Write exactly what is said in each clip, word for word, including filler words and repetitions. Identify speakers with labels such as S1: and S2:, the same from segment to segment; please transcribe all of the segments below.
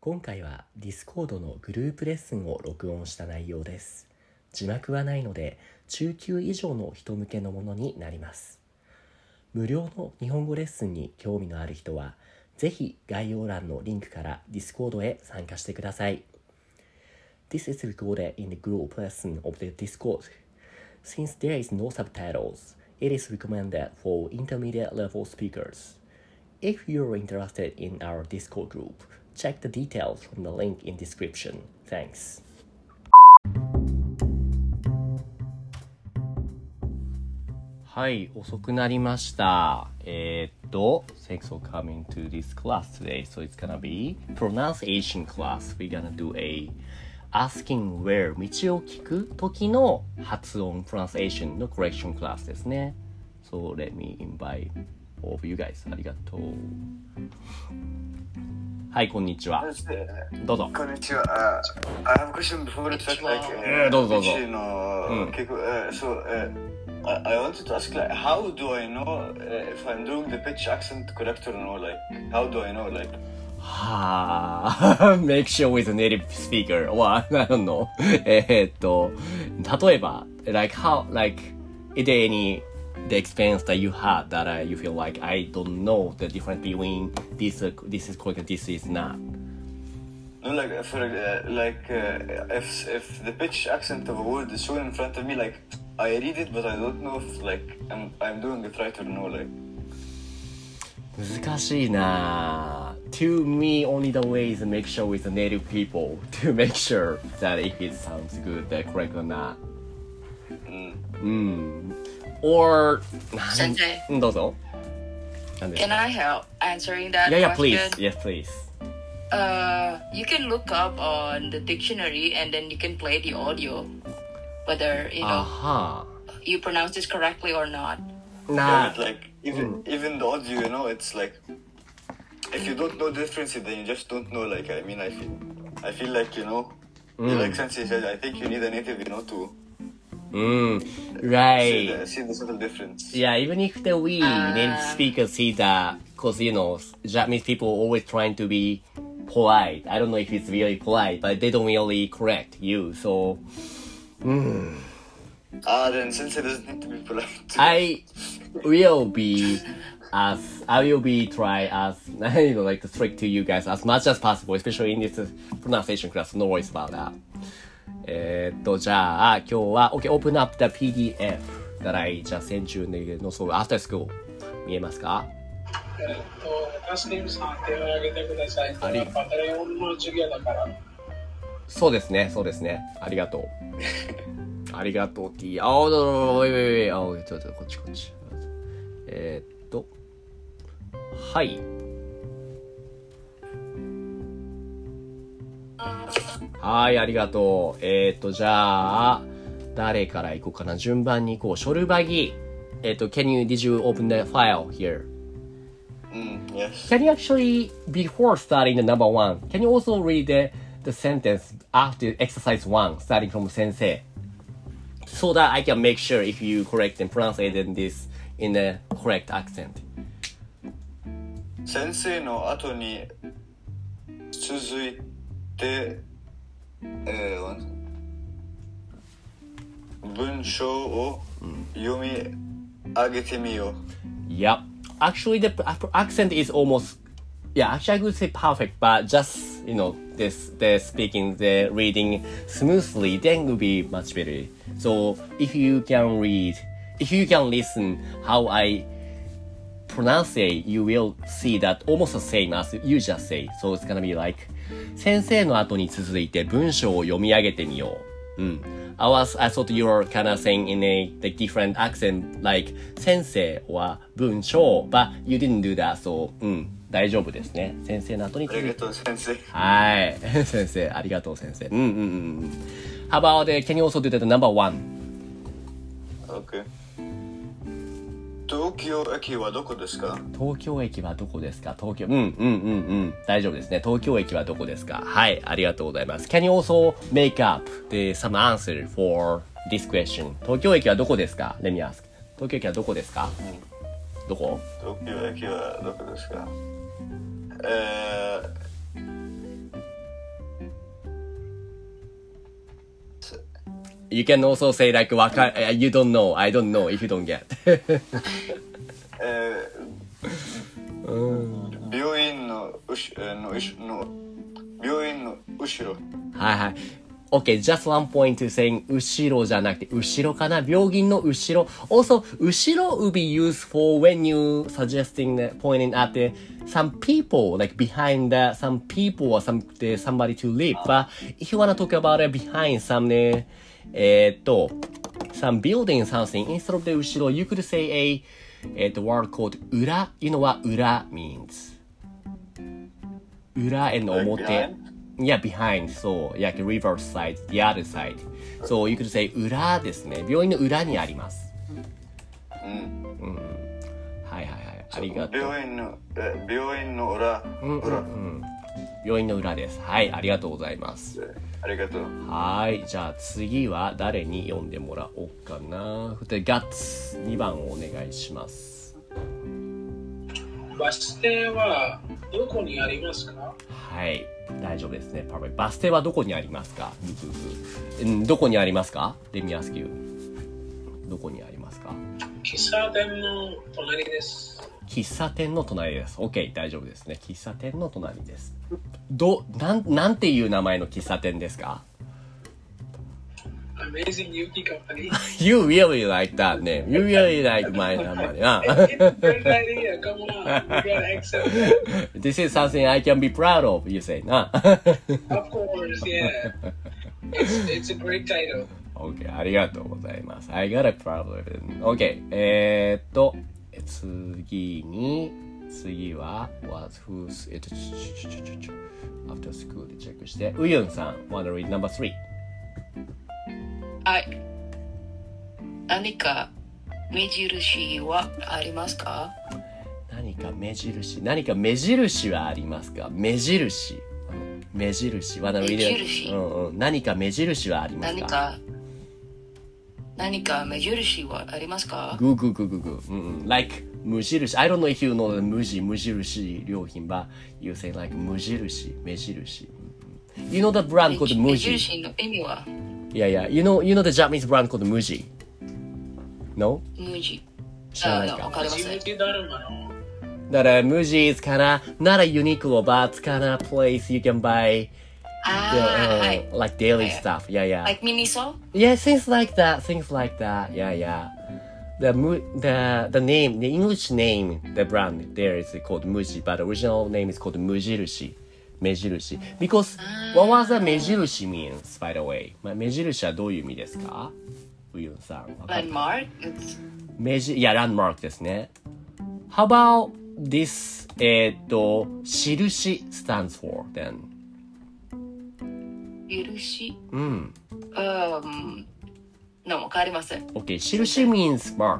S1: 今回は Discord のグループレッスンを録音した内容です。字幕はないので中級以上の人向けのものになります。無料の日本語レッスンに興味のある人はぜひ概要欄のリンクから Discord へ参加してください。This is recorded in the group lesson of the Discord. Since there is no subtitles, it is recommended for intermediate level speakers. If you're interested in our Discord group, check the details from the link in description. Thanks. はい、遅くなりました。えー、っと、Thanks for coming to this class today. So it's gonna be pronunciation class. We're gonna do a asking where 道を聞く時の発音 pronunciation の correction class ですね。So let me invite all of you guys. ありがとう。はい、こんにちは。どうぞ。
S2: こんにちは。Uh, I have a question before the fact, like, uh,
S1: どうぞどうぞ。
S2: の、結構、uh, so, uh, I, I wanted to ask, like, how do I know uh, if I'm doing the pitch accent correct or no? Like, how do I know, like?
S1: はあ、make sure with a native speaker. Well, I don't know. えっと、例えば、like, how, like, is there any the experience that you had that uh, you feel like I don't know the difference between this uh, this is correct and this is not?
S2: No, like for uh, like uh, if if the pitch accent of a word is shown in front of me, like I read it, but I don't know if like I'm I'm doing it right or no. Like
S1: 難しいな。To me, only the way is to make sure with the native people to make sure that if it sounds good, that correct or not.
S2: うん。
S1: うん。Or
S3: 先生、
S1: どうぞ。
S3: Can I help answering that
S1: yeah, yeah,
S3: question?
S1: please. Yes, please.
S3: Uh, you can look up on the dictionary and then you can play the audio, whether you know
S1: Aha.
S3: you pronounce this correctly or not.
S1: Nah.
S2: Yeah, but like even mm. even the audio, you know, it's like if you don't know the difference, then you just don't know. Like I mean, I feel I feel like you know, mm. like Sensei said, I think you need a native, you know, to.
S1: Mm, right.
S2: See the, see the subtle difference.
S1: Yeah, even if the we uh, native speakers see that, because you know, Japanese people always trying to be polite. I don't know if it's really polite, but they don't really correct you. So, mm.
S2: ah, then since it doesn't need to be polite,
S1: I will be as I will be try as you know, like to strict to you guys as much as possible, especially in this pronunciation class. No worries about that. えーっと、じゃあ、今日は、OK, open up the ピーディーエフ that I just sent you の、そう、after school 見えますか？
S4: えーっと、タスキムさん手を挙げてください。これはパタレオンの授業だから。
S1: そうですね、そうですね。ありがとう。ありがとう、T。あ、おいおいおいおい、あ、ちょっと、こっちこっち。えーっと、はい。はい、ありがとう。えー、っと、じゃあ、誰から行こうかな。順番に行こう。ショルバギ。えー、っと、can you, did you open the file here?
S2: Mm, yes.
S1: Can you actually, before starting the number one, can you also read the, the sentence after exercise one, starting from sensei? So that I can make sure if you correct and pronounce this in the correct accent.
S2: 先生の後に続いてえー、文章を読み上げてみよう。
S1: Yep. Actually, the accent is almost, yeah, actually I would say perfect, but just, you know, this, the speaking, the reading smoothly, then will be much better. So if you can read, if you can listen how I pronounce it, you will see that almost the same as you just say. So it's gonna be like, 先生の後に続いて文章を読み上げてみよう。うん。I was, I thought you were kind of saying in a like, different accent, like 先生は文章, but you didn't do that, so うん、大丈夫ですね。先生の後に続いて。
S2: ありがとう先生。
S1: はい。先生、ありがとう先生。うんうんうん。How about, can you also do that number one?
S2: Okay. 東京駅はどこですか？
S1: 東京駅はどこですか？東京、うんうんうんうん。大丈夫ですね。東京駅はどこですか？はい、ありがとうございます。Can you also make up the some answer for this question? 東京駅はどこですか？ Let me ask. 東京駅はどこですか？うん、どこ？
S2: 東京駅はどこですか？えー、
S1: You can also say like, わか you don't know, I don't know if you don't get.
S2: えー、病院のうしのうしの病院の後ろ。
S1: はいはい。Okay, just one point to saying 後ろじゃなくて後ろかな。病院の後ろ。Also, 後ろ will be used for when you suggesting, pointing at the, some people, like behind the, some people or some, the, somebody to live. But if you want to talk about it behind some, えーっと、some building something, instead of the 後ろ, you could say a, えーっと、word called 裏。You know what 裏 means? 裏 and 表。Yeah, behind. So, like reverse side, the other side. So, you could say 裏ですね。病院の裏にあります。
S2: うん。
S1: うん。はいはいはい。ありがとう。
S2: 病院の、え病院の裏。
S1: うんうんうん。病院の裏です。はい、ありがとうございます。
S2: ありがとう。
S1: はい、じゃあ次は誰に読んでもらおうかな。で、ガッツにばんをお願いします。
S4: バス停はどこにありますか？
S1: はい、大丈夫ですね。Perfect。バス停はどこにありますか？うん、どこにありますか？ Let me ask you。どこにありますか？
S4: 喫茶店の隣です。
S1: 喫茶店の隣です。OK、大丈夫ですね。喫茶店の隣です。ど、なん、なんていう名前の喫茶店ですか？
S4: Amazing Yuki Company.
S1: You really like that name. You really like my name. Huh?
S4: It's a great idea. Come on. You gotta accept it.
S1: This is something I can be proud of, you say, nah?
S4: Of course, yeah. It's, it's a great title.
S1: OK、ありがとうございます。I got a problem. OK、えー、っと、次に、次は、was, who's, えっと、after school でチェックして、ウユンさん、wanna read number three。
S3: はい。何か目印はありますか？
S1: 何か目印、何か目印はありますか？目印。目印。wanna read it？
S3: 目印。
S1: うんうん。何か目印はありますか？
S3: 何か何か目印はありますか？
S1: グーグーグーグーグー。うんうん。like 無印。I don't know if you know the 無地、無印良品 but you say like 無印、目印。You know the brand called 無地。
S3: 目印の意味は
S1: Yeah, yeah. You know, you know the Japanese brand called Muji? No?
S3: Muji.
S1: 知らないか。
S3: わかりません。
S1: だから Muji is kinda not a Uniqlo, but it's kinda place you can buy the,
S3: ああ、はい。
S1: uh, like daily stuff. Yeah, yeah.
S3: Like Miniso?
S1: Yeah, things like that. Things like that. Yeah, yeah. The mu- the the name, the English name, the brand there is called Muji, but the original name is called Mujirushi. 目印 because what was the 目印 means by the way 目印はどういう意味ですか？ウユンさん。
S3: Landmark?
S1: 目印、いや、ランドマークですね。How about this えっと印 stands for then
S3: 印
S1: うん。
S3: um, no, わかりません。
S1: Okay, 印 means mark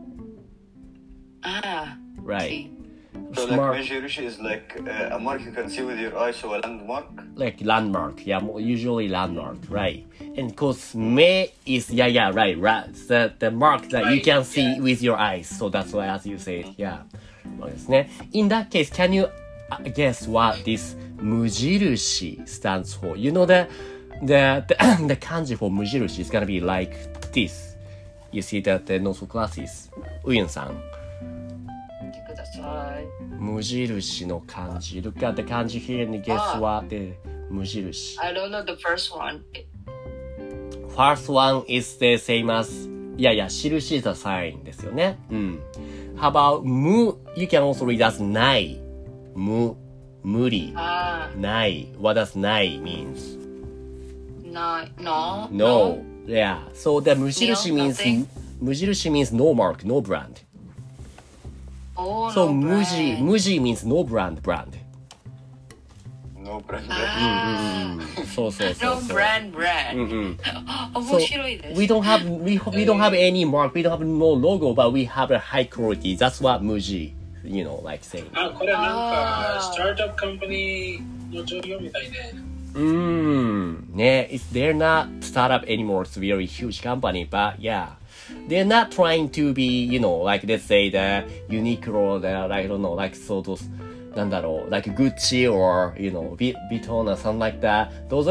S3: ああ
S1: right
S2: So
S1: Smart.
S2: like Mejirishi is like uh, a mark you can see with your eyes, so a landmark.
S1: like landmark, yeah, usually landmark, right? And because me is yeah, yeah, right, right. The the mark that you can see with your eyes, so that's why, as you said, yeah. そうですね。In that case, can you guess what this 無印 stands for? You know the the the, the kanji for 無印 is gonna be like this. You see that the notes classes. ウユンさん。
S3: ください。
S1: 無印の漢字。Look at the 漢字 here and guess what the 無印。
S3: I don't know the first one.
S1: First one is the same as いやいや、印 is a sign ですよね。うん。How about 無 You can also read as ない。無、無理。
S3: あ
S1: ない。What does ない means?
S3: ない、no?
S1: No. Yeah. So the 無印
S3: No,
S1: means
S3: nothing.
S1: 無印 means no mark, no brand.
S3: Oh,
S1: So
S3: no
S1: 無地
S3: brand.
S1: 無地 means no brand brand.
S2: No brand.
S3: あ
S1: そうそう
S3: ー
S1: そう
S3: No
S1: そう。
S3: brand brand.
S1: うんうん。
S3: 面白いです。
S1: We don't have we, we don't have any mark, we don't have no logo, but we have a high quality. That's what Muji, you know, like saying.
S4: あ、これなんか、
S3: あー
S4: スタートアップカンパニーの状況みたいね。
S1: Mm, yeah, it's they're not startup anymore. It's a very huge company, but yeah, they're not trying to be, you know, like let's say the Uniqlo, the like I don't know, like so those, なんだろう, like Gucci or you know, Vuitton or something like that. Those are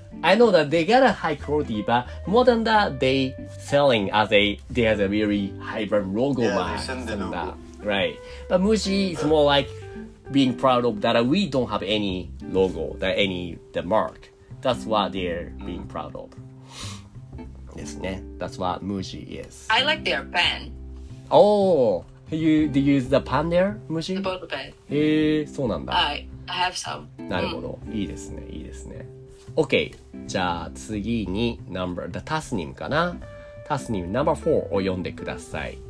S1: I know that they got a high quality, but more than that, they selling as a they has a very high brand logo
S2: Yeah, they
S1: mark
S2: send the
S1: and
S2: logo.
S1: that, right? But Muji is more like being proud of that we don't have any logo, that any the mark. That's what they're being proud of. ですね。That's what Muji is.
S3: I like their pen,
S1: Oh, you do you use the pen there,
S3: the
S1: Muji?
S3: ball pen.
S1: へえ、そうなんだ。
S3: I I have some.
S1: なるほど。いいですね。いいですね。OK。じゃあ次に number、the タスニムかな。タスニム number four を読んでください。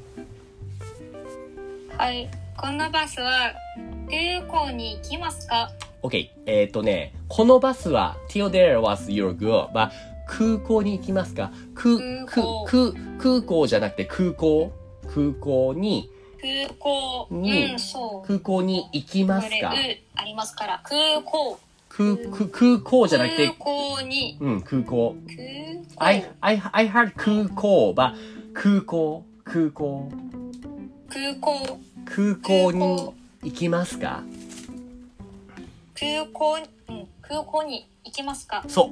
S5: はい。このバスは空港に行きますか？
S1: OK。えっ、ー、とね、このバスは till there was your girl、but 空港に行きますか？空
S5: 空港
S1: 空空港じゃなくて空港空港に
S5: 空港。
S1: に
S5: うん、そう。
S1: 空港に行きます
S5: これ、
S1: か？
S5: うありますから。空港。
S1: 空空空港じゃなくて
S5: 空港に。
S1: うん空港。
S5: 空港。
S1: I I I heard 空港 but 空港空港
S5: 空港。
S1: 空港に行きますか？
S5: 空港、うん、空港に行きますか？
S1: そう。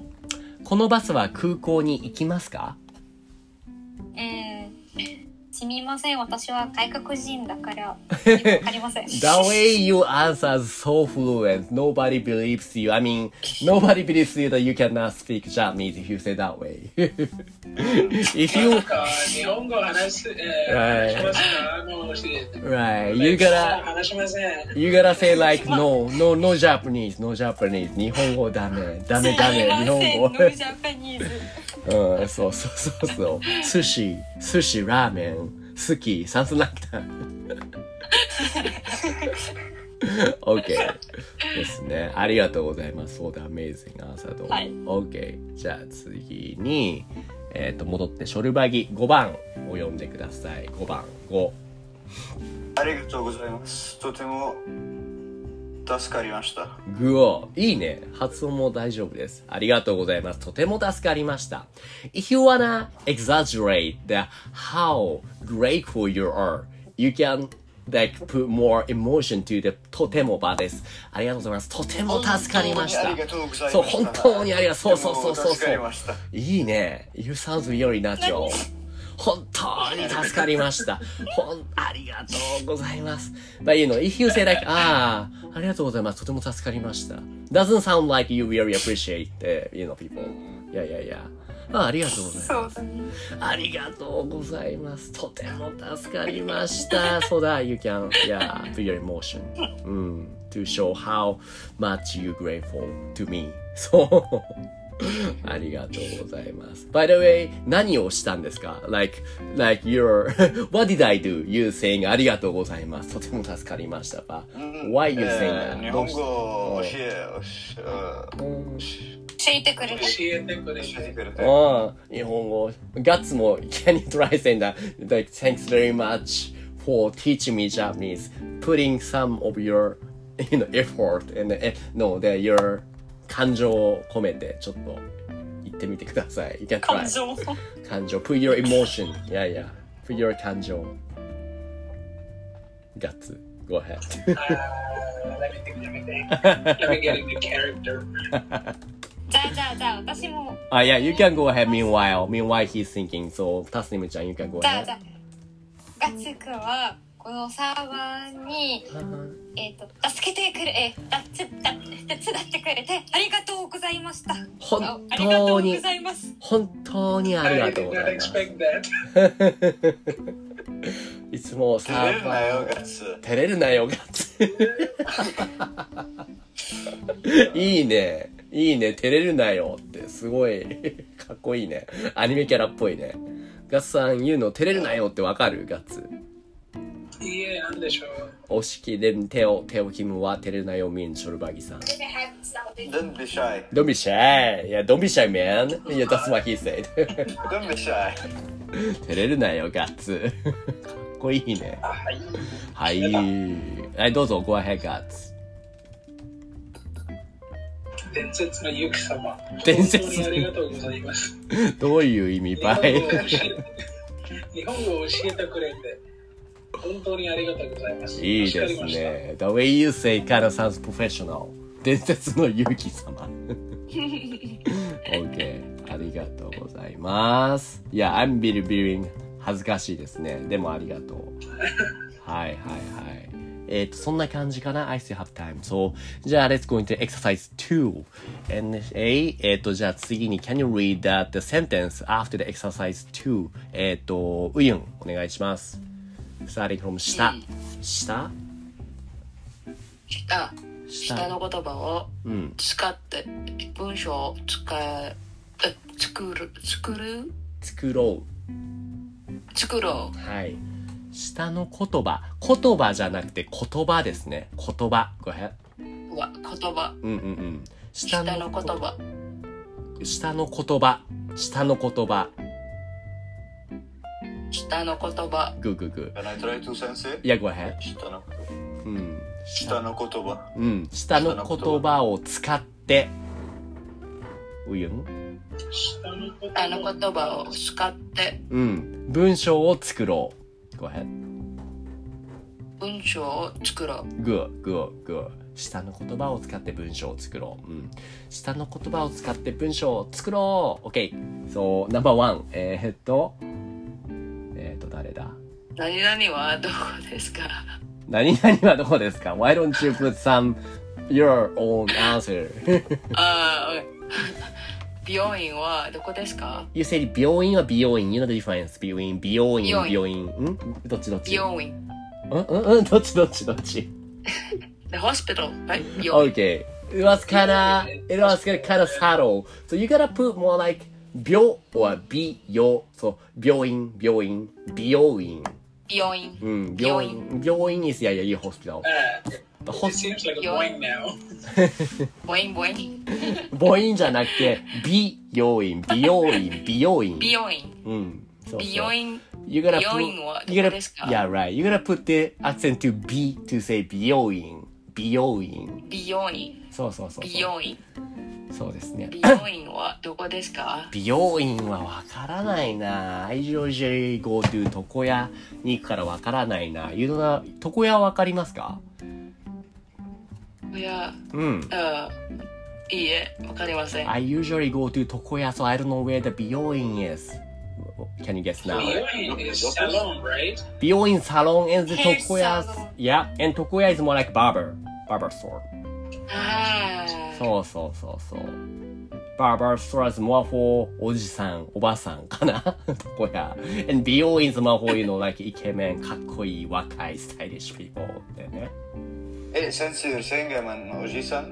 S1: このバスは空港に行きますか？
S5: うん。すみません。私は外国人だから、わかりません。
S1: The way you answer is so fluent. Nobody believes you. I mean, nobody believes you that you cannot speak Japanese if you say that way. If
S4: な
S1: you
S4: んか日本語話す、えー、
S1: はい
S4: 話しますか？もう教えて。
S1: right, you gotta
S4: 話しません。
S1: you gotta say like no, no, no Japanese, no Japanese. 日本語ダメ、ダメダメ、日本語。
S5: ノージャパニーズ。
S1: うん、そうそうそうそう。寿司、寿司、ラーメン、好き、something like that. OK ですね。ありがとうございます。そうだ、amazing answer と。
S5: はい
S1: OK。じゃあ次に、えっ、と、戻ってショルバギごばんを読んでください。ごばん、ご。
S2: ありがとうございます。とても助かりました。
S1: グオ。いいね。発音も大丈夫です。ありがとうございます。とても助かりました。If you wanna exaggerate the how grateful you are, you can like put more emotion to the とても場です。ありがとうございます。とても助かりました。
S2: ありがとうございました。
S1: そう、本当にありがとう。そうそうそうそう
S2: とても助かりました。
S1: いいね。You sound very natural. 本当に助かりました。ほん、ありがとうございます。But you know, if you say like, ああ、ありがとうございます。とても助かりました。Doesn't sound like you really appreciate the, you know, people. いやいやいや。あ、ありがとうございます。ありがとうございます。とても助かりました。そうだ、you can, yeah, feel your emotion. うん。to show how much you grateful to me. そう。ありがとうございます。By the way, 何をしたんですか？ Like, like your, what did I do? You saying ありがとうございます。とても助かりました。But why you saying that?
S2: 日本語を教え、
S5: 教えてくれて。
S4: 教えてくれ
S2: 教えて
S4: て。
S2: くれて。
S1: ああ、日本語。ガッツも、can you try saying that? Like, thanks very much for teaching me Japanese. Putting some of your, you know, effort and, no, that your 感情を込めてちょっと言ってみてください。You can try.
S5: 感情。
S1: 感情。Put your emotion. Yeah, yeah. Put your 感情。ガッツ。Go ahead.
S4: Uh, let me think, let me think. Let me get into character.
S5: じゃあじゃあじゃあ私も。
S1: あ、yeah, you can go ahead meanwhile. Meanwhile he's thinking. So, タスニムちゃん、you can go
S5: じゃあ
S1: ahead.
S5: じゃあガッツくんはこのサーバーにえっ、ー、と助けてくれえだつだ手伝ってくれてありがとうございました。
S1: 本
S5: ありがとう
S1: 当に
S5: ございます。
S1: 本当にあり
S4: I
S1: がとう
S4: did
S1: ござ
S4: not
S1: います。
S4: expect that.
S1: いつもサ
S2: 照れるな
S1: ーバー
S2: よ、ガッツ。
S1: 照れるなよガッツ。いいね。いいね。照れるなよってすごいかっこいいね。アニメキャラっぽいね。ガッツさん言うの照れるなよってわかる？ガッツ。
S4: いいえ、なんでしょう。
S1: お式で手を手をキムは照れるなよミンショルバギさん。
S2: Don't be shy.
S1: Don't be shy. Yeah, don't be shy, man. Yeah, that's what he said.
S2: Don't be shy.
S1: 照れるなよ、ガッツ。かっこいいね。
S4: はい。
S1: はい。はい、どうぞ、ご ahead, ガッツ。
S4: 伝説のユキ様。
S1: 伝説
S4: 本当にありがとうございます。
S1: どういう意味
S4: 日
S1: ばい
S4: 本語を教え日本語を教えてくれて、本当にありがとうございます。
S1: いいですね。The way you say kind of sounds professional. 伝説のユキ様。 OK ありがとうございます。いや I'm really feeling 恥ずかしいですね。でもありがとう。はいはいはい。えっとそんな感じかな。I still have time. So じゃあ let's go into exercise two. And A えっとじゃあ次に Can you read that the sentence after the exercise two? えっとウユンお願いします。Starting from 下、うん、下
S3: 下下の言葉を使って文章を使え、うん、作る作る
S1: 作ろ
S3: う作ろう
S1: はい下の言葉言葉じゃなくて言葉ですね言葉ごめん
S3: うわ言葉
S1: うんうんうん
S3: 下の言葉
S1: 下の言葉下の言葉
S3: 下の言葉
S1: グーグーグー
S2: Can I try to sense?
S1: いやごめん
S2: 下の
S1: うん
S2: 下の言葉
S1: うん下の言葉を使ってうゆん
S3: 下の言葉を使って
S1: うん文章を作ろうGo ahead.
S3: 文章を作ろう
S1: Good, good, good. 下の言葉を使って文章を作ろう、うん、下の言葉を使って文章を作ろう OK So, number one えー、っとえー、っと誰だ
S3: 何々はどこですか
S1: 何々はどこですか Why don't you put some your own answer?
S3: ああ美容院はどこですか
S1: You said 病院は美容院 You know the difference between 美容院病院んどっちどっち
S3: 美容院
S1: うんうんうんどっちどっちどっち
S3: The hospital right? 美容院
S1: Okay It was kinda It was kinda subtle So you gotta put more like 病 or 美容 So 病院病院美容院
S3: 美容院
S1: うん病院病院 is yeah yeah you hospital
S4: Uh, it seems like a boing now.
S3: ボインボイン
S1: 母音じゃなくて美容院美容院美容院
S3: 美容院
S1: うんそうそう
S3: 美容院
S1: You gotta
S3: 美容
S1: put
S3: 院はど
S1: You
S3: こ
S1: gotta
S3: ですか
S1: Yeah right You gotta put the accent to B to say 美容院美容院
S3: 美容院
S1: そうそうそうそう
S3: 美容院
S1: そうですね
S3: 美容院はどこですか
S1: 美容院はわからないな I usually go to 床屋に行くからわからないな You know 床屋わかりますか
S3: いや
S1: うん
S3: あいいえわかりません
S1: I usually go to 床屋 so I don't know where the 美容院 is Can you guess now?
S4: Boing is salon, right?
S1: 美容院 salon and the
S5: Hair
S1: 床屋
S5: salon.
S1: Yeah and 床屋 is more like barber barber store
S3: ああ
S1: そうそうそうそうバーバーストラーズ more for おじさんおばさんかな床屋 and 美容院 is more for you know like イケメンかっこいい若いスタイリッシュ people だよね
S2: Hey, since you're saying I'm an Oji-san?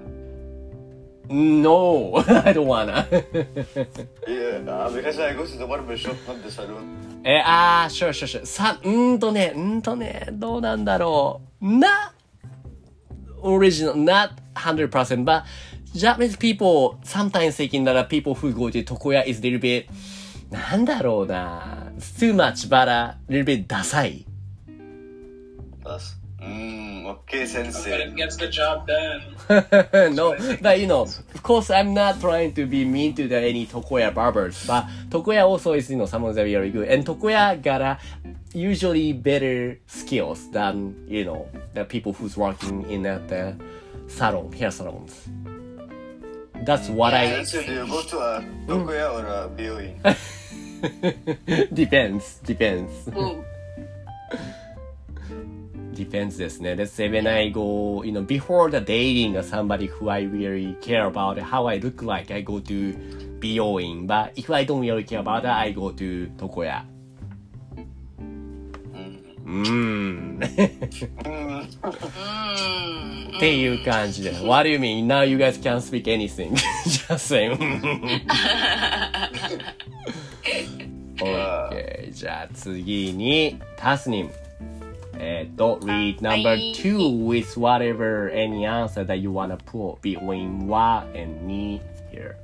S1: No, I don't wanna.
S2: Yeah, uh, because I go to the barber shop, not the salon.
S1: え、あー、sure, sure, sure. さ、うんとね、うんとね、どうなんだろう。Not original, not one hundred percent, but Japanese people sometimes thinking that people who go to Tokoya is a little bit, なんだろうな。too much, but a little bit ダサい。
S2: That's, mm, okay,
S4: But
S2: sensei.
S4: it gets the job done.
S1: No, but you know, of course, I'm not trying to be mean to the any Tokoya barbers, but Tokoya also is, you know, some of them very good, and Tokoya got a usually better skills than, you know, the people who's working in at the salon, hair salons. That's what I
S2: Sensei, do you go to a Tokuya or a Bioin?
S1: depends, depends.
S3: うん
S1: Depends ですね。Let's say when I go, you know, before the dating somebody who I really care about how I look like, I go to 美容院. But if I don't really care about that, I go to 床屋. うーん。っていう感じで。What do you mean? Now you guys can't speak anything. Just say. Okay. じゃあ次に、タスニム。えっと、read number two with whatever any answer that you wanna put between wa and me here.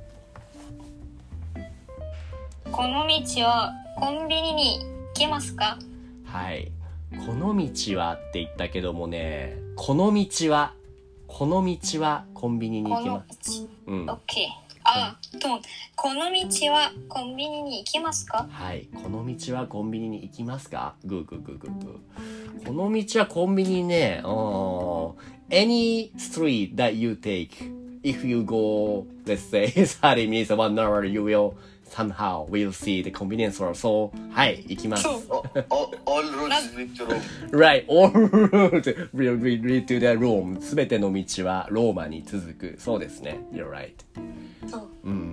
S5: この道はコンビニに行けますか？
S1: はい。この道はって言ったけどもね、この道は、この道はコンビニに行
S5: この
S1: きます。
S5: 道。
S1: うん。
S5: オッケー。あ、と、この道はコンビニに行けますか？
S1: はい。この道はコンビニに行きますか？グーグーグーグーグー。この道はコンビニね、うん。Any street that you take, if you go, let's say, thirty minutes or one hour, you will somehow will see the convenience store. So, はい、行きます。
S2: all, all, all roads lead to Rome.
S1: Right, all roads will lead to the Rome. すべての道はローマに続く。そうですね。You're right.
S5: そう。
S1: うんうんうん。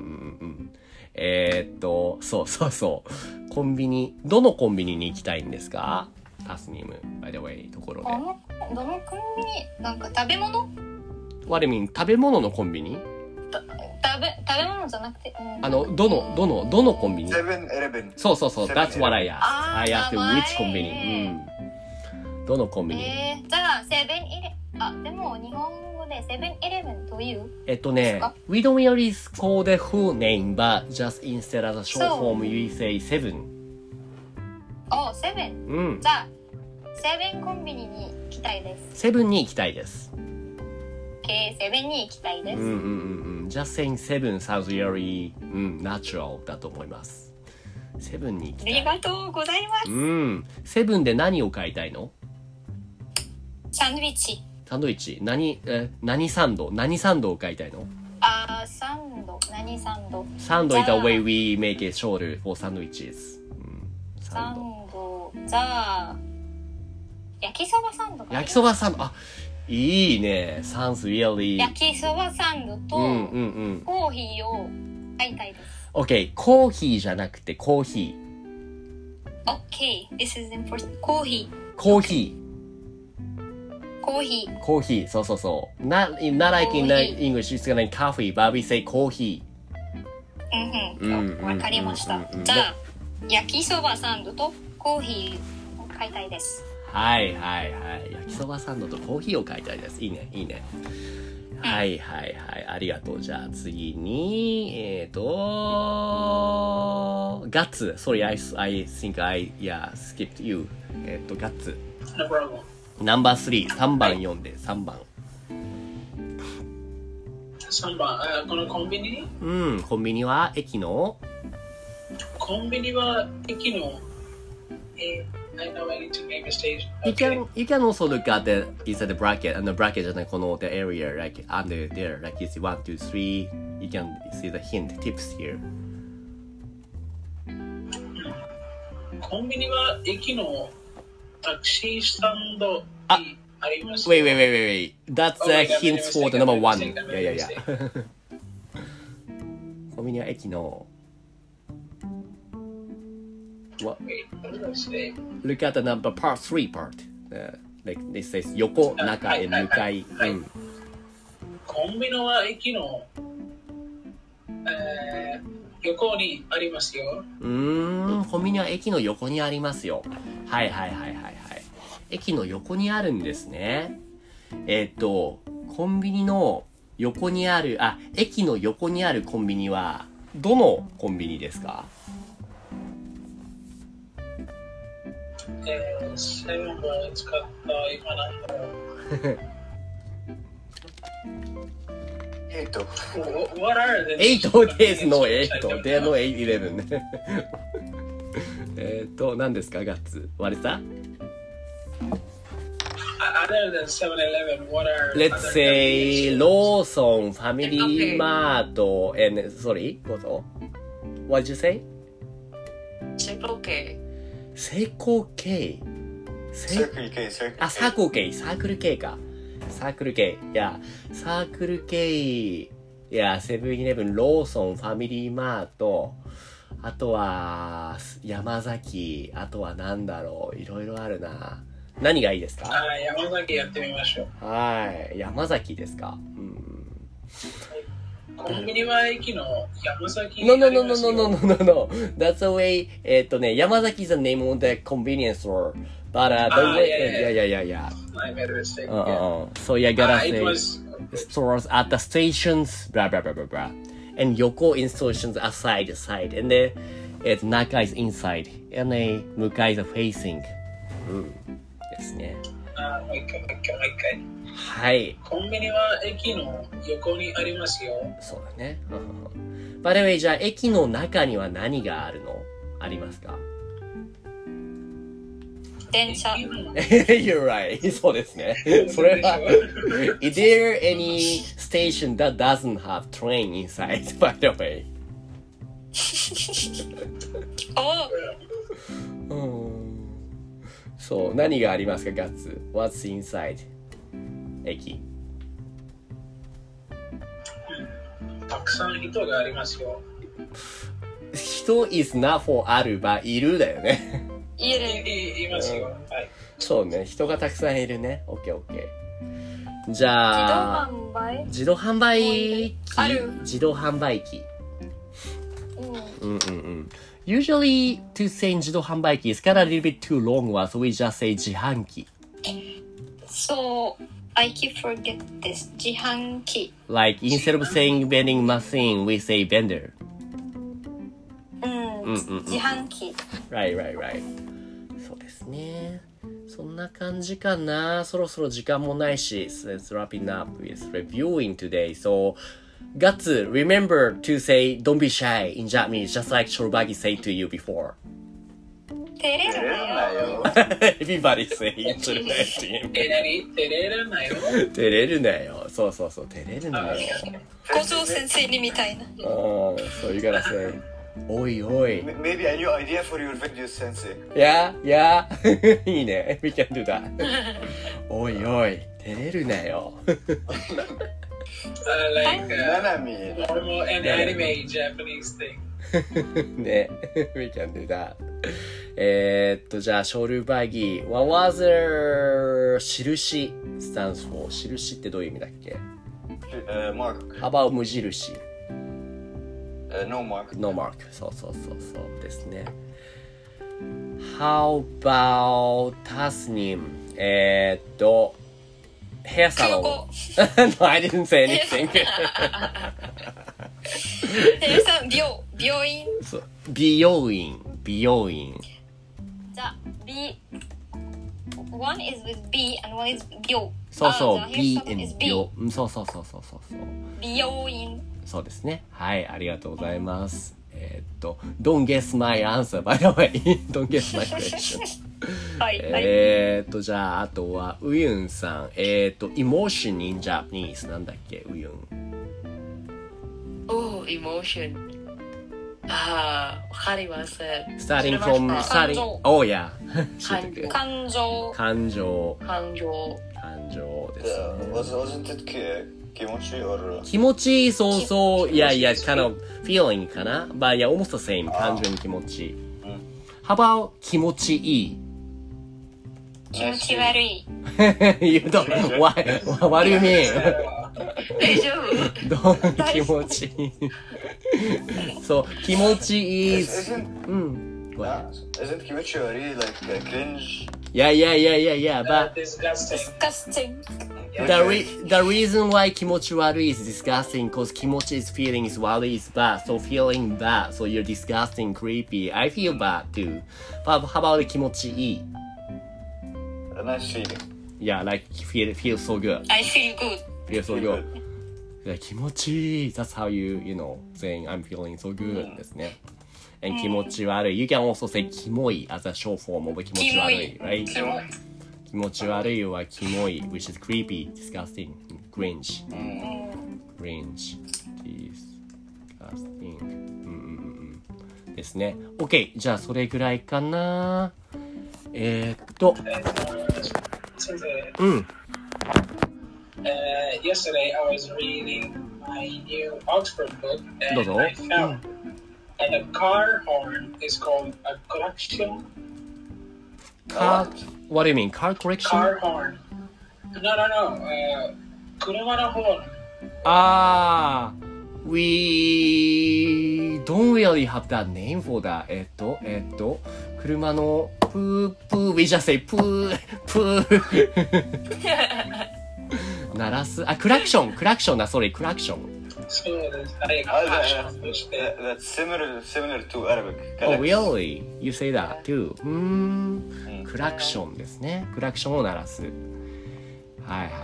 S1: えー、っと、そうそうそう。コンビニ、どのコンビニに行きたいんですか？タスニム、by the way、ところで。
S5: どの、どのコンビニなんか食べ物
S1: What do you mean? 食べ物のコンビニ？
S5: た食べ、食べ物じゃなくて、うん、
S1: あの、どの、どの、どのコンビニ？
S2: セブンイレブン。
S1: そうそうそう。That's what I asked.
S5: あー
S1: I asked
S5: 名前
S1: which コンビニ。うん。どのコンビニ？
S5: えー、じゃあ、セブンイレ、あ、でも日本語でセブンイレブンという？
S1: えっとね、we don't really call the full name, but just instead of the short form, we say seven.
S5: お、セブン。
S1: うん。
S5: じゃあ、セブンコンビニに行きたいです。
S1: セブンに行きたいです。
S5: Okay, セブンに行きたいです。
S1: うんうんうんうん。just saying seven sounds really、うん、natural だと思います。セブンに行きたい。
S5: ありがとうございます。
S1: うん。セブンで何を買いたいの？
S5: サンドイッチ。
S1: サンドイッチ。何、え、何サンド？何サンドを買いたいの？
S5: あー、サンド。何サンド？
S1: サンド is the way we make it shorter for sandwiches、うん、
S5: サンド。じゃあ、焼きそばサンドかな。
S1: 焼きそばサンド。あ、いいね。sounds really。
S5: 焼きそばサンドと、
S1: うんうんうん。
S5: コーヒーを買いたいです。
S1: OK。コーヒーじゃなくてコーヒ
S5: ー。OK。This is important. コーヒ
S1: ー。コーヒー。
S5: コーヒー。
S1: コーヒー。そうそうそう。Not, not like in English, it's like coffee, but we say コーヒ
S5: ー。うんうん。わかりました。じゃあ、焼きそばサンドとコーヒーを買いたいです。
S1: はいはいはい。焼きそばサンドとコーヒーを買いたいです。いいね、いいね。はいはいはい。ありがとう。じゃあ次に、えっ、ー、と、ガッツ。Sorry, I, I think I, yeah, skipped you. えっ、ー、と、ガッツ。
S4: No problem.
S1: ナンバースリー、さんばん読んで、さんばん。
S4: さんばん、あ、このコンビニ？
S1: うん、コンビニは駅の
S4: コンビニは駅の、えー I know I need to name a station.
S1: You
S4: Okay.
S1: can you can also look at the inside the bracket and the bracket じゃないこの the area like under there like you see one two three you can see the hint tips here.
S4: コンビニは駅のタクシースタンド
S1: あ
S4: にあります。
S1: Wait wait wait wait wait that's
S4: Oh my
S1: a
S4: God,
S1: hint
S4: made a
S1: for the
S4: mistake,
S1: number
S4: I made a
S1: one.
S4: mistake, I made a
S1: Yeah yeah
S4: mistake.
S1: yeah. コンビニは駅の What?
S4: Wait, what did I say?
S1: Look at the number part three part. Uh, like it says 横中へ向かい。
S4: はい
S1: うん。
S4: コンビニは駅の、えー、横にありますよ。
S1: うーん、コンビニは駅の横にありますよ。はいはいはいはいはい。駅の横にあるんですね。えーっと、コンビニの横にある、あ、駅の横にあるコンビニは、どのコンビニですか？
S4: えー、セブンを使った今なんだろう。
S2: エイト。
S4: What are the
S1: エイトですのエイト。でのエイイレブンね。えっと、何ですかガッツ。割れた？
S4: Other than seven eleven, what are
S1: Let's
S4: other
S1: say
S4: convenience stores?
S1: Lawson, Family Mart, and sorry, what? What did you say?
S3: Circle K.
S1: セイコー K。
S2: サークル K、サークル K。
S1: あ、サークル K、サークル K か。サークル K。いや、サークル K、いや、セブンイレブン、ローソン、ファミリーマート、あとは、山崎、あとはなんだろう、いろいろあるな。何がいいですか？
S4: あ、山崎やってみましょう。
S1: はい、山崎ですか。うん。
S4: コンビニは駅の山崎に
S1: No,
S4: あ
S1: no,
S4: り
S1: no,
S4: ま
S1: no,
S4: す
S1: no,
S4: よ。
S1: no, no, no, no. That's the way, えっとね、山崎 is the name of the convenience store. But uh, the
S4: Ah,
S1: way,
S4: yeah,
S1: yeah,
S4: yeah,
S1: yeah, yeah, yeah.
S4: I made a mistake.
S1: Uh,
S4: Yeah.
S1: uh, uh. So you gotta
S4: Ah, it
S1: say
S4: was
S1: stores at the stations, blah, blah, blah, blah, blah. And Yoko installations aside, side. And then it's Naka is inside. And then Muka is facing. うん。ですね。
S4: あ、もう一回、もう一回、もう一回。
S1: はい。
S4: コンビニは駅の横にありますよ。
S1: そうだね。By the way, じゃあ駅の中には何があるの？ありますか？
S5: 電車。
S1: You're right. そうですね。それは。Is there any station that doesn't have train inside, by the way?
S5: お
S1: うん、そう、何がありますか、ガッツ。What's inside? 駅。
S4: たくさん人がありますよ。
S1: 人 is not for あるばいるだよね。
S5: いる。
S4: い、い、いますよ。はい。
S1: そうね、人がたくさんいるね。オッケーオッケー。じゃあ、
S5: 自動販売
S1: 自動販売機
S5: ある
S1: 自動販売機。
S5: うん。
S1: うんうんうん。Usually to say 自動販売機 is kind of a little bit too long one, so we just say 自販機。
S5: So, I keep forget this. 自販機。
S1: Like instead of saying vending machine, we say vendor.
S5: うん。
S1: うんうんうん
S5: 自販機。
S1: Right, right, right. そうですね。そんな感じかな。そろそろ時間もないし、so let's wrapping up with reviewing today. So, Guts, remember to say don't be shy in Japanese, just like Shorobagi said to you before.
S5: 照れ
S2: 照れる
S5: るなよ。
S2: なよ。
S1: Everybody say it to the team.
S4: え、なに照れるなよ。
S1: 照れるなよ。そうそうそう、照れるなよ。
S5: 校長先生にみたいな。
S1: うん、そういうからsay, おいおい。
S2: Maybe a new idea for your video, sensei.
S1: Yeah, yeah. いいね。We can do that. おいおい、照れるなよ。
S4: Uh, like, uh,
S2: Nanami.
S4: normal and anime Japanese thing.
S1: ね。We can do that. えーっと、じゃあ、ショルバギー。What was the 印 stands for? 印ってどういう意味だっけ？
S2: Uh, mark.
S1: How about 無印？
S2: Uh, no mark.
S1: No mark. そうそうそうそうですね。How about タスニム？えーっと、ヘアサロン。No, I didn't say anything.
S5: えさん、病、病院。
S1: そう美容院、美容院。
S5: じゃあ、B。One is with B and one is 病。
S1: そうそう、
S5: あ
S1: B
S5: the hairsalon
S1: and
S5: is B
S1: 病。うんそうそうそうそうそうそう。
S5: 美容院。
S1: そうですね。はい、ありがとうございます。えーっと、Don't guess my answer, by the way. Don't guess my question.
S5: はい、はい。
S1: えーっと、じゃあ、あとは、ウユンさん。えーっと、emotion in Japanese なんだっけ、ウユン。
S3: Oh, emotion. ああ、わかりません。
S1: Starting
S3: それ
S1: from,
S3: は
S1: starting,
S5: 感情
S1: oh yeah.
S3: 感情
S5: 感情。
S1: 感情、
S3: 感情。
S1: 感情です
S2: Uh,
S1: ね。
S2: was, wasn't it ki- kimochi or...
S1: 気持ちいい、そうそう。いやいや、kind of feeling かな But yeah, almost the same. 単純に気持ちいい。How about 気持ちいい
S5: 気持ち悪い。
S1: you don't, why, what do you mean?
S3: 大丈夫？
S1: どう気持ちいいそう、気持ちいい。
S2: Isn't,
S1: うん。Go ahead.
S2: isn't kimochi wari like uh, cringe?
S1: Yeah, yeah, yeah, yeah, yeah.
S4: Uh,
S1: But
S4: disgusting.
S5: Disgusting.
S1: the, re the reason why 気持ち悪い is disgusting because 気持ち is feeling is 悪い is bad. So feeling bad. So you're disgusting, creepy. I feel bad too. But how about 気持ちいい
S2: A nice feeling.
S1: Yeah, like feel, feel so good.
S5: I feel good.
S1: Feel so good. Yeah, 気持ちいい That's how you, you know, saying I'm feeling so good ですね。And 気持ち悪い You can also say キモい as a short form of 気持ち悪い right?
S5: キモい。
S1: 気持ち悪いはキモい which is creepy, disgusting, cringe. Cringe, disgusting. うんうんうんですね。OK。じゃあそれぐらいかな。えー、っと、
S4: Sensei,
S1: うん。
S4: uh, yesterday I was reading my new Oxford book and
S1: Dozo.
S4: I found that a car horn is called a collection.
S1: Car, what do you mean? Car correction?
S4: Car horn. No, no, no. Uh, 車のホーン。
S1: あー、we don't really have that name for that. えっと、えっと、車のプープー、we just say プー、プー。鳴らす、あ、クラクション、クラクションだ、それ、クラクション。
S4: そうです。はい、
S2: Ah,
S4: ファッ
S2: that,
S4: ションとして。
S2: that, that's similar similar to Arabic.
S1: Oh,
S2: Correct.
S1: really? You say that too? うーん、クラクションですね。クラクションを鳴らす。はいはいはいはい。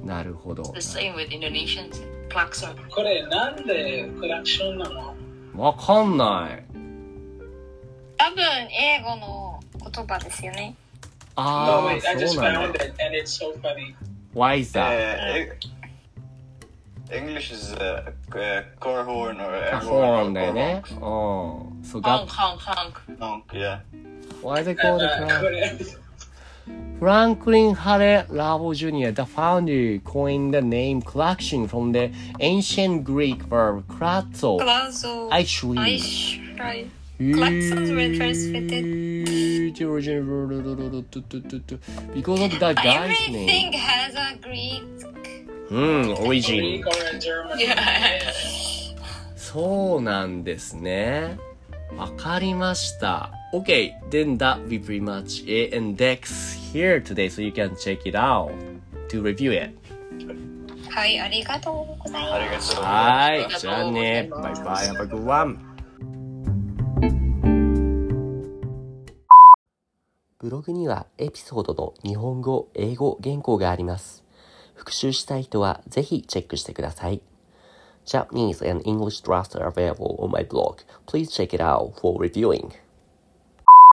S1: なるほど。
S3: The same with Indonesians. Klakson.
S4: これなんでクラクションなの？
S1: わかんない。
S5: 多分英語の言葉ですよね。
S4: No,
S1: ああ、
S4: wait, I
S1: そ
S4: just
S1: うなん
S4: found
S1: だ。
S4: it and it's so funny.
S1: Why is that?
S2: Uh, English is uh, uh, car horn or air
S1: ホ
S2: horn
S1: ー
S2: or
S1: ンだよ
S2: car
S1: ね。
S2: honk.
S1: うん。そう
S3: honk
S1: が、
S3: honk honk.
S2: Honk, yeah.
S1: Why they
S4: Uh,
S1: call the
S4: uh,
S1: car? Franklin Hare Lavo Junior, the founder, coined the name klaxon from the ancient Greek verb kratzo.
S5: クラウゾ
S1: Actually,
S5: アイシュライ Klaxons were translated.
S1: Because of that guy's
S5: Everything
S1: name.
S5: has a Greek
S1: うん、origin.
S4: Greek or a German.
S3: Yeah.
S1: そうなんですね。わかりました。Okay, then that will be pretty much it. And Dex here today, so you can check it out to review it.
S5: はい、ありがとうございます。
S1: はい、じゃあね。バイバイ、have a good one. ブログにはエピソードの日本語、英語原稿があります。復習したい人はぜひチェックしてください。Japanese and English drafts are available on my blog. Please check it out for reviewing.